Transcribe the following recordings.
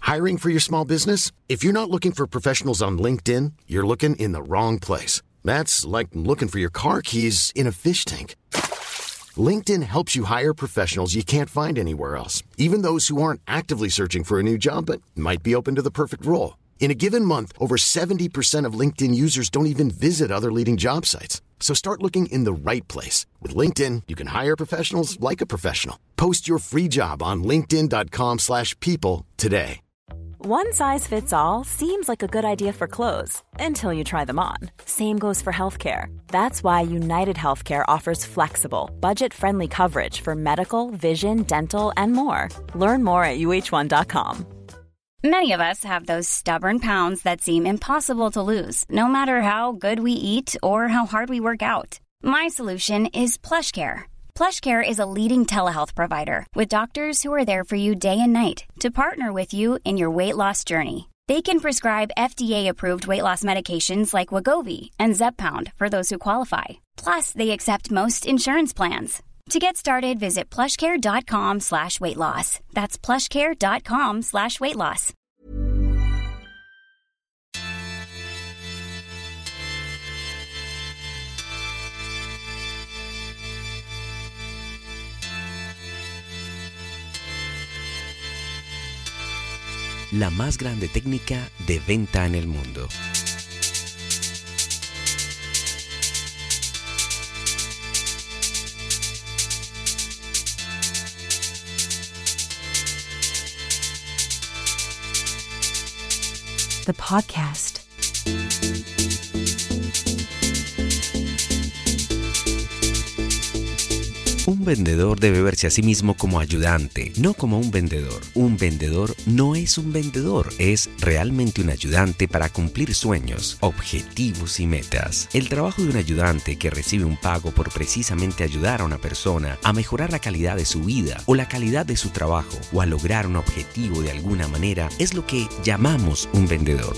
Hiring for your small business? If you're not looking for professionals on LinkedIn, you're looking in the wrong place. That's like looking for your car keys in a fish tank. LinkedIn helps you hire professionals you can't find anywhere else, even those who aren't actively searching for a new job but might be open to the perfect role. In a given month, over 70% of LinkedIn users don't even visit other leading job sites. So start looking in the right place. With LinkedIn, you can hire professionals like a professional. Post your free job on linkedin.com/people today. One size fits all seems like a good idea for clothes until you try them on. Same goes for healthcare. That's why United Healthcare offers flexible, budget-friendly coverage for medical, vision, dental, and more. Learn more at uh1.com. Many of us have those stubborn pounds that seem impossible to lose, no matter how good we eat or how hard we work out. My solution is PlushCare. PlushCare is a leading telehealth provider with doctors who are there for you day and night to partner with you in your weight loss journey. They can prescribe FDA-approved weight loss medications like Wegovy and Zepbound for those who qualify. Plus, they accept most insurance plans. To get started, visit plushcare.com/weightloss. That's plushcare.com/weightloss. La más grande técnica de venta en el mundo. The podcast. Un vendedor debe verse a sí mismo como ayudante, no como un vendedor. Un vendedor no es un vendedor, es realmente un ayudante para cumplir sueños, objetivos y metas. El trabajo de un ayudante que recibe un pago por precisamente ayudar a una persona a mejorar la calidad de su vida o la calidad de su trabajo o a lograr un objetivo de alguna manera es lo que llamamos un vendedor.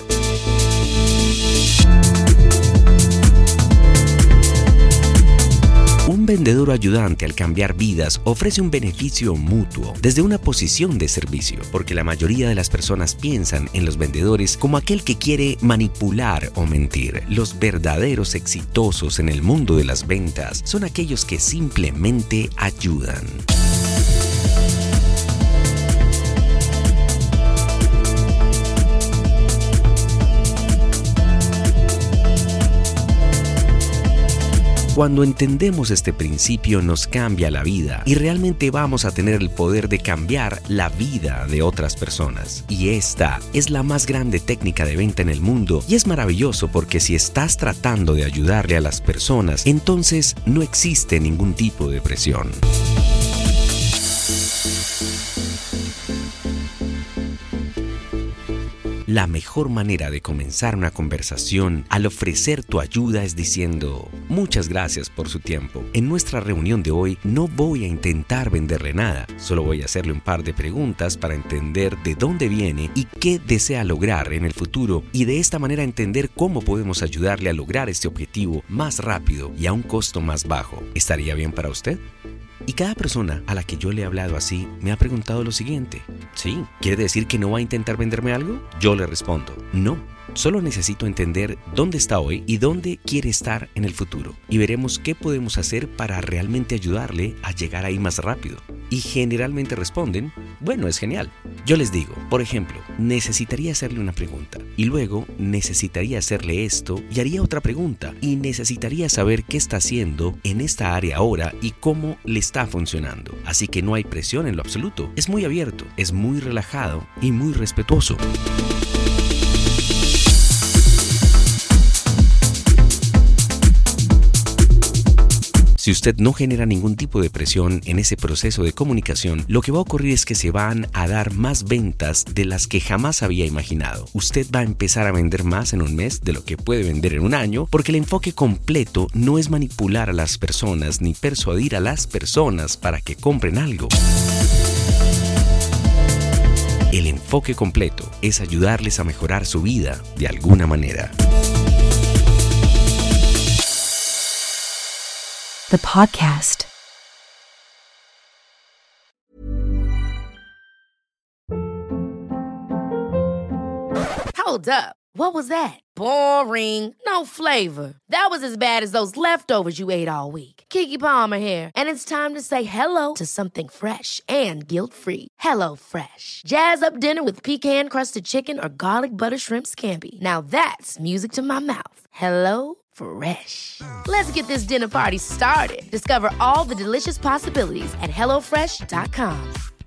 Un vendedor ayudante al cambiar vidas ofrece un beneficio mutuo desde una posición de servicio, porque la mayoría de las personas piensan en los vendedores como aquel que quiere manipular o mentir. Los verdaderos exitosos en el mundo de las ventas son aquellos que simplemente ayudan. Cuando entendemos este principio nos cambia la vida y realmente vamos a tener el poder de cambiar la vida de otras personas. Y esta es la más grande técnica de venta en el mundo y es maravilloso porque si estás tratando de ayudarle a las personas, entonces no existe ningún tipo de presión. La mejor manera de comenzar una conversación al ofrecer tu ayuda es diciendo: muchas gracias por su tiempo. En nuestra reunión de hoy no voy a intentar venderle nada, solo voy a hacerle un par de preguntas para entender de dónde viene y qué desea lograr en el futuro y de esta manera entender cómo podemos ayudarle a lograr este objetivo más rápido y a un costo más bajo. ¿Estaría bien para usted? Y cada persona a la que yo le he hablado así me ha preguntado lo siguiente: ¿sí? ¿Quiere decir que no va a intentar venderme algo? Yo le respondo: no. Solo necesito entender dónde está hoy y dónde quiere estar en el futuro. Y veremos qué podemos hacer para realmente ayudarle a llegar ahí más rápido. Y generalmente responden: bueno, es genial. Yo les digo, por ejemplo, necesitaría hacerle una pregunta. Y luego necesitaría hacerle esto y haría otra pregunta. Y necesitaría saber qué está haciendo en esta área ahora y cómo le está funcionando. Así que no hay presión en lo absoluto. Es muy abierto, es muy relajado y muy respetuoso. Si usted no genera ningún tipo de presión en ese proceso de comunicación, lo que va a ocurrir es que se van a dar más ventas de las que jamás había imaginado. Usted va a empezar a vender más en un mes de lo que puede vender en un año, porque el enfoque completo no es manipular a las personas ni persuadir a las personas para que compren algo. El enfoque completo es ayudarles a mejorar su vida de alguna manera. The podcast. Hold up. What was that? Boring. No flavor. That was as bad as those leftovers you ate all week. Keke Palmer here, and it's time to say hello to something fresh and guilt-free. Hello Fresh. Jazz up dinner with pecan-crusted chicken or garlic butter shrimp scampi. Now that's music to my mouth. Hello Fresh. Let's get this dinner party started. Discover all the delicious possibilities at HelloFresh.com.